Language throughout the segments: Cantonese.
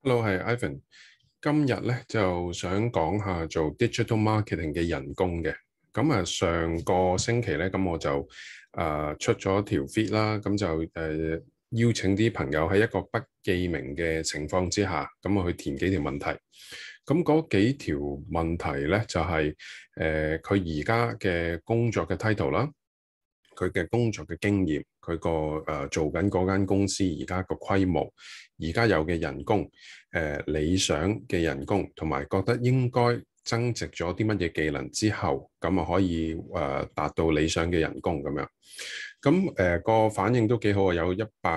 Hello，係 Ivan。今日咧就想講下做 digital marketing 嘅人工嘅。咁啊，上個星期咧，咁我就出咗條 feed 啦，咁就邀請啲朋友喺一個不記名嘅情況之下，咁我去填幾條問題。咁嗰幾條問題咧就係佢而家嘅工作嘅 title 啦。佢嘅工作嘅經驗，佢個做緊嗰間公司而家個規模，而家有嘅人工，理想嘅人工，同埋覺得應該增值咗啲乜嘢技能之後，咁啊可以達到理想嘅人工咁樣。咁個反應都幾好啊，有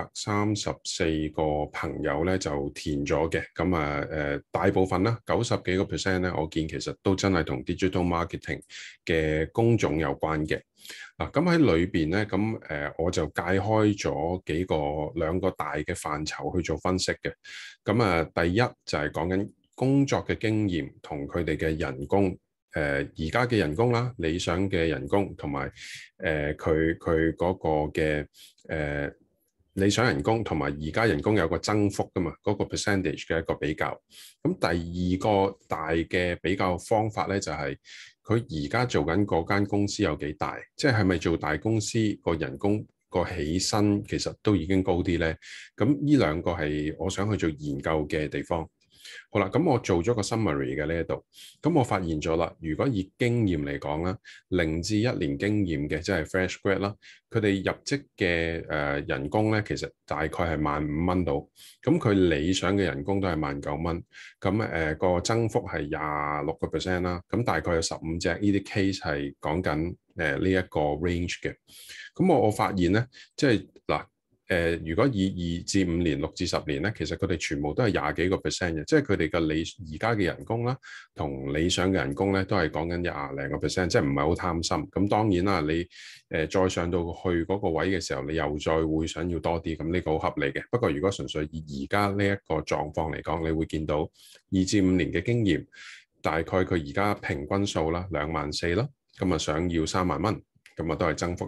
134個朋友咧就填咗嘅。咁大部分啦，90幾個% 咧，我見其實都真係同 digital marketing 嘅工種有關嘅。嗱，咁喺裏邊咧，我就界開咗兩個大嘅範疇去做分析嘅。第一就係講緊工作嘅經驗同佢哋嘅人工，而家嘅人工啦，理想嘅人工，同埋佢嗰個嘅理想人工同埋而家人工有個增幅噶嘛，嗰個 percentage 嘅一個比較。咁第二個大嘅比較方法咧，就係佢而家做緊嗰間公司有幾大，即係咪做大公司個人工個起薪其實都已經高啲咧？咁呢兩個係我想去做研究嘅地方。好啦，咁我做咗個 summary 嘅呢一度，咁我發現咗啦，如果以經驗嚟講啦，0至1年經驗嘅，即係 fresh grad 啦，佢哋入職嘅人工咧，其實大概係15,000到，咁佢理想嘅人工都係19,000，咁個增幅係26%啦，咁大概有15隻呢啲 case 係講緊呢一個 range 嘅，咁我發現咧，即係嗱。如果以2至5年、6至10年咧，其實佢哋全部都係20幾個 percent 嘅，即係佢哋嘅而家嘅人工啦，同理想嘅人工咧，都係講緊20零個 percent，即係唔係好貪心。咁當然啦，你再上到去嗰個位嘅時候，你又再會想要多啲，咁呢個好合理嘅。不過如果純粹以而家呢一個狀況嚟講，你會見到2至5年嘅經驗，大概佢而家平均數啦24,000啦，咁啊想要30,000蚊，咁啊都係增幅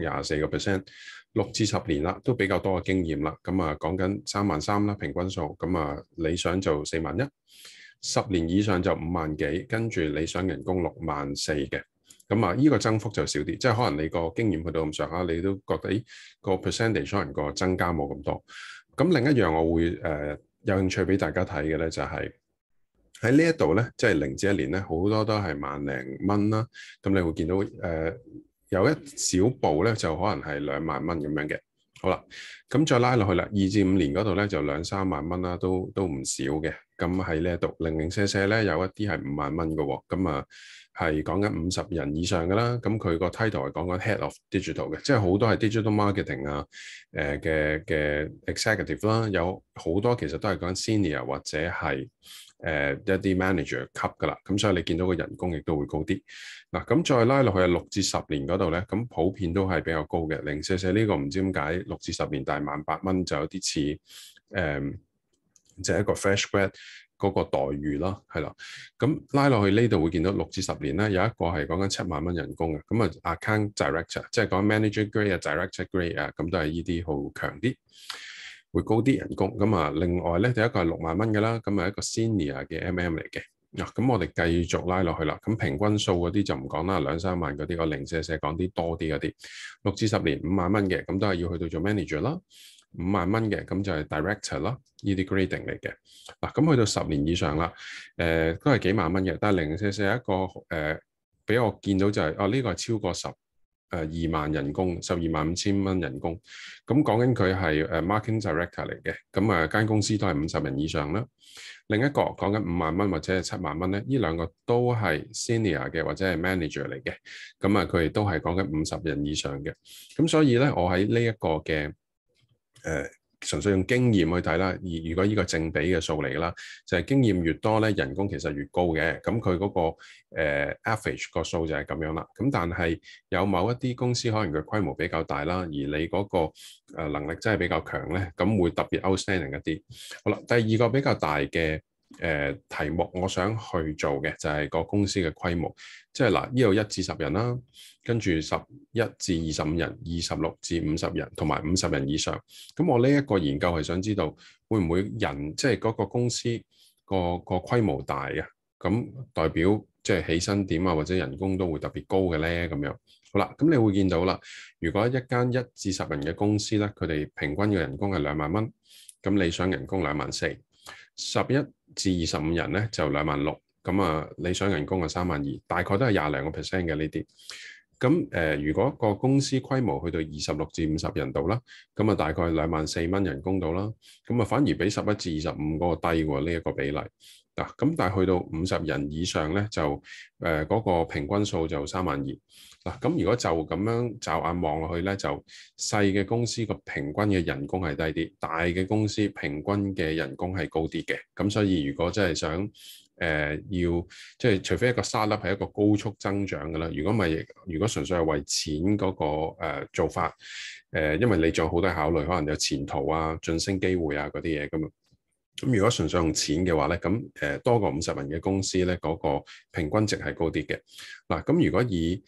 24%。6至10年啦，都比較多嘅經驗啦。咁講緊33,000啦，平均數。咁理想就41,000，10年以上就5萬幾，跟住理想人工64,000嘅。咁呢個增幅就少啲，即係可能你個經驗去到咁上下，你都覺得個 percentage 可能個增加冇咁多。咁另一樣我會有興趣俾大家睇嘅咧，就係喺呢一度咧，即係0至1年咧，好多都係萬零蚊啦。咁你會見到有一小步咧，就可能係2萬蚊咁樣嘅。好啦，咁再拉落去啦，2至5年嗰度咧就2、3萬蚊啦，都唔少嘅。咁喺呢一度零零舍舍咧，有一啲係5萬蚊嘅喎。咁係講緊50人以上嘅啦。咁佢個 title 係講緊 Head of Digital 嘅，即係好多係 Digital Marketing 啊嘅 Executive 啦，有好多其實都係講緊 Senior 或者係一啲 Manager 級噶啦。咁所以你見到個人工亦都會高啲。嗱，咁再拉落去6至10年嗰度咧，咁普遍都係比較高嘅。044呢個唔知點解6至10年，但係18,000就有啲似就係一個 fresh grad 嗰個待遇啦，係啦。咁拉落去呢度會見到6至10年咧，有一個係講緊7萬蚊人工嘅。咁account director 即係講 manager grade 啊、director grade 啊，咁都係呢啲好強啲，會高啲人工。另外咧，第一個係6萬蚊嘅啦，咁係一個 senior 嘅 MM 嚟嘅。咁我哋繼續拉落去啦。咁平均數嗰啲就唔講啦，2、3萬嗰啲，我044講啲多啲嗰啲。6至10年5萬蚊嘅，咁都係要去到做 manager 啦。5萬蚊嘅，咁就係 director 啦，呢啲 grading 嚟嘅。咁去到10年以上啦，都係幾萬蚊嘅。但係044一個俾我見到就係，呢個係超過2萬人工，125,000蚊人工。咁講緊佢係marketing director 嚟嘅。咁間公司都係50人以上啦。另一個講緊5萬蚊或者係7萬蚊咧，呢兩個都係 senior 嘅或者係 manager 嚟嘅。佢哋都係講緊50人以上嘅。咁所以咧，我喺呢一個嘅純粹用經驗去睇啦。而如果呢個正比嘅數嚟㗎啦，就係經驗越多咧，人工其實越高嘅。咁佢嗰個average 個數就係咁樣啦。咁但係有某一啲公司可能佢規模比較大啦，而你嗰個能力真係比較強咧，咁會特別 outstanding 一啲。好啦，第二個比較大嘅題目，我想去做嘅就係個公司嘅規模，即係嗱，呢度1至10人啦，跟住11至25人、26至50人，同埋50人以上。咁我呢一個研究係想知道會唔會人，即係嗰個公司個規模大啊，咁代表即係起薪點啊或者人工都會特別高嘅咧咁樣。好啦，咁你會見到啦，如果一間1至10人嘅公司咧，佢哋平均嘅人工係2萬蚊，咁理想人工2萬4。11至25人咧就2萬6，咁啊理想人工係3萬2，大概都係20零個 percent 嘅呢啲。咁如果個公司規模去到26至50人度啦，咁啊大概2萬4蚊人工度啦，咁啊反而比11至25嗰個低喎，呢一個比例。嗱，咁但係去到50人以上咧，就嗰個平均數就3萬2。嗱，咁如果就咁樣驟眼望落去咧，就細嘅公司個平均嘅人工係低啲，大嘅公司平均嘅人工係高啲嘅。咁所以如果真係想要即係除非一個 startup 係一個高速增長嘅啦，如果純粹係為錢嗰個做法，因為你仲有好多考慮，可能有前途啊、晉升機會啊嗰啲嘢咁。咁如果純粹用錢嘅話咧，咁多過50人嘅公司咧，嗰個平均值係高啲嘅。嗱，咁如果以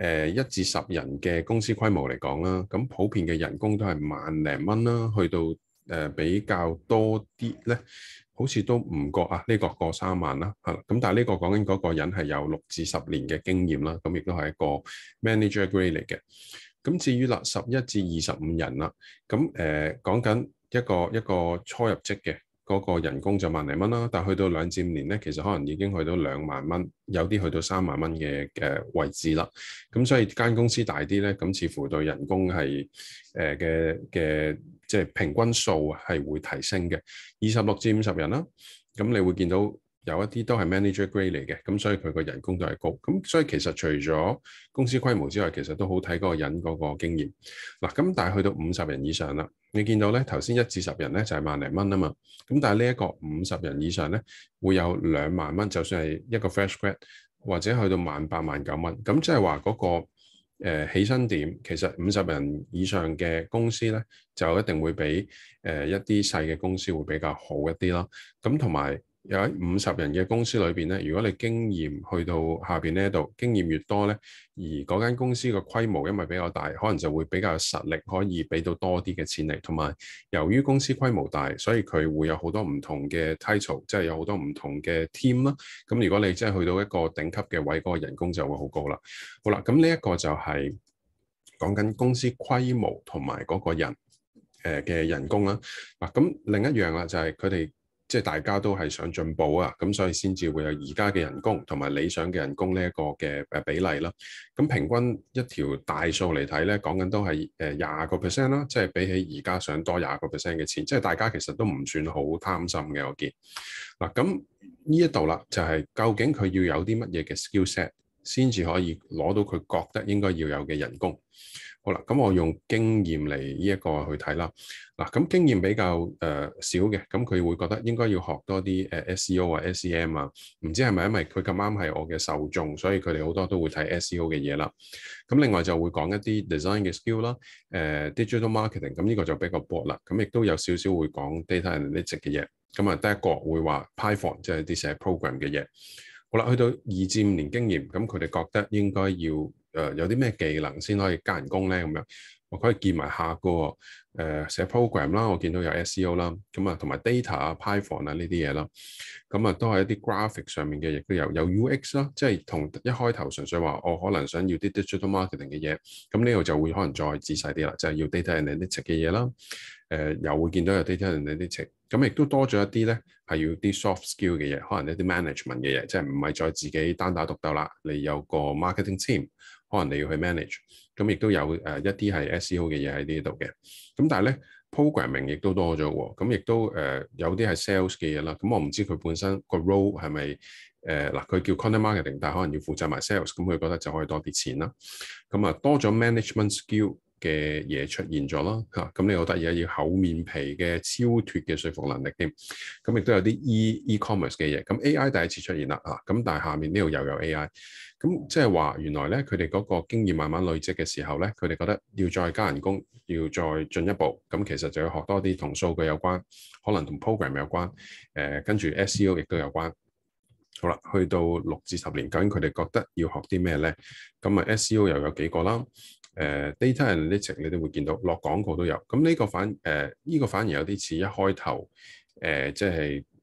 1至10人嘅公司規模嚟講啦，咁普遍嘅人工都係萬零蚊啦，去到比較多啲咧，好似都唔過啊，呢個過3萬啦，係啦。咁但係呢個講緊嗰個人係有6至10年嘅經驗啦，咁亦都係一個 manager grade 嚟嘅。咁至於啦11至25人啦，咁講緊一個初入職嘅。嗰個人工就萬零蚊啦，但去到2至5年咧，其實可能已經去到2萬蚊，有啲去到3萬蚊嘅位置啦。咁所以間公司大啲咧，咁似乎對人工係嘅即係平均數係會提升嘅。26至50人啦，咁你會見到有一啲都係 manager grade 嚟嘅，咁所以佢個人工都係高。咁所以其實除咗公司規模之外，其實都好睇嗰個人嗰個經驗。嗱，咁但係去到50人以上啦，你見到咧頭先1至10人咧就係萬零蚊啊嘛，咁但係呢一個50人以上咧會有2萬蚊，就算係一個 fresh grad 或者去到18000、19000蚊，咁即係話嗰個起薪點其實50人以上嘅公司咧就一定會比一啲細嘅公司會比較好一啲啦。咁同埋有喺50人嘅公司裏邊咧，如果你經驗去到下邊呢一度，經驗越多咧，而嗰間公司個規模因為比較大，可能就會比較有實力可以俾到多啲嘅錢嚟。同埋由於公司規模大，所以佢會有好多唔同嘅 title，即係有好多唔同嘅 team 啦。咁如果你真係去到一個頂級嘅位，嗰個人工就會好高啦。好啦，咁呢一個就係講緊公司規模同埋嗰個人嘅人工啦。嗱，咁另一樣啦就係佢哋。即係大家都係想進步啊，咁所以先至會有而家嘅人工同埋理想嘅人工呢一個嘅比例啦。咁平均一條大數嚟睇咧，講緊都係20% 啦，即係比起而家想多20% 嘅錢，即係大家其實都唔算好貪心嘅。我見嗱，咁呢一度啦，就係究竟佢要有啲乜嘢嘅 skill set 先至可以攞到佢覺得應該要有嘅人工。好啦，咁我用經驗嚟呢一個去睇啦。嗱，咁經驗比較少嘅，咁佢會覺得應該要學多啲SEO 啊、SEM 啊，唔知係咪因為佢咁啱係我嘅受眾，所以佢哋好多都會睇 SEO 嘅嘢啦。咁另外就會講一啲 design 嘅 skill 啦，digital marketing，咁呢個就比較薄啦。咁亦都有少少會講 data analytics 嘅嘢。咁啊，第一個會話 Python，即係啲寫 program 嘅嘢。好啦，去到2至5年經驗，咁佢哋覺得應該要有啲咩技能先可以加人工咧？咁樣我可以見埋下個寫 program 啦，我見到有 SEO 啦，咁啊同埋 data 啊、Python 啊呢啲嘢啦，咁啊都係一啲 graphic 上面嘅，亦都有 UX 啦，即係同一開頭純粹話我可能想要啲 digital marketing 嘅嘢，咁呢度就會可能再仔細啲啦，就係要 data analytics 嘅嘢啦。又會見到有 data analytics，咁亦都多咗一啲咧，係要啲 soft skill 嘅嘢，可能一啲 management 嘅嘢，即係唔係再自己單打獨鬥啦，你有個 marketing team，可能你要去 manage，咁亦都有一啲係 SEO 嘅嘢喺呢度嘅，咁但係咧 programming 亦都多咗喎，咁亦都有啲係 sales 嘅嘢啦，咁我唔知佢本身個 role 係咪嗱佢叫 content marketing，但係可能要負責埋 sales，咁佢覺得就可以多啲錢啦，咁啊多咗 management skill嘅嘢出現咗啦嚇，咁你好得意啊，要厚面皮嘅超脫嘅說服能力添，咁亦都有啲 e-commerce 嘅嘢，咁 AI 第一次出現啦嚇，咁但係下面呢度又有 AI，咁即係話原來咧佢哋嗰個經驗慢慢累積嘅時候咧，佢哋覺得要再加人工，要再進一步，咁其實就要學多啲同數據有關，可能同 program 有關，跟住 SEO 亦都有關。好啦，去到6至10年，究竟佢哋覺得要學啲咩咧？咁啊 SEO 又有幾個啦。data analytics 你都會見到落廣告都有，咁呢個反而有啲似一開頭即係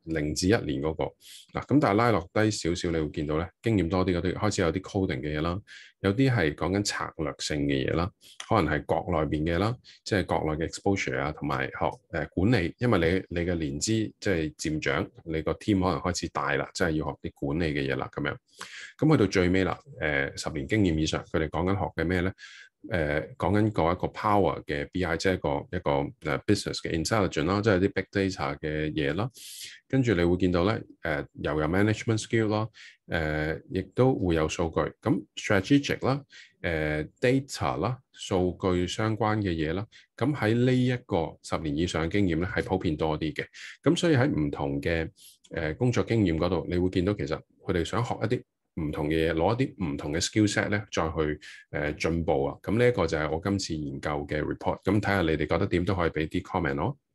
0至1年嗰個嗱，咁但係拉落低少少，你會見到咧經驗多啲嗰啲開始有啲 coding 嘅嘢啦，有啲係講緊策略性嘅嘢啦，可能係國內邊嘅啦，即係國內嘅 exposure 啊，同埋學管理，因為你嘅年資即係漸長，你個 team 可能開始大啦，即係要學啲管理嘅嘢啦咁樣。咁去到最尾啦，10年經驗以上，佢哋講緊學嘅咩咧？講緊一個 power 嘅 BI，即係一個business 嘅 intelligence 啦，即係啲 big data 嘅嘢啦。跟住你會見到咧，又有 management skill 啦，亦都會有數據。咁 strategic 啦，data 啦，數據相關嘅嘢啦。咁喺呢一個10年以上嘅經驗咧，係普遍多啲嘅。咁所以喺唔同嘅工作經驗嗰度，你會見到其實佢哋想學一啲唔同嘅嘢，攞一啲唔同嘅 skill set 咧，再去進步啊！咁呢一個就係我今次研究嘅 report。咁睇下你哋覺得點都可以俾啲 comment 咯。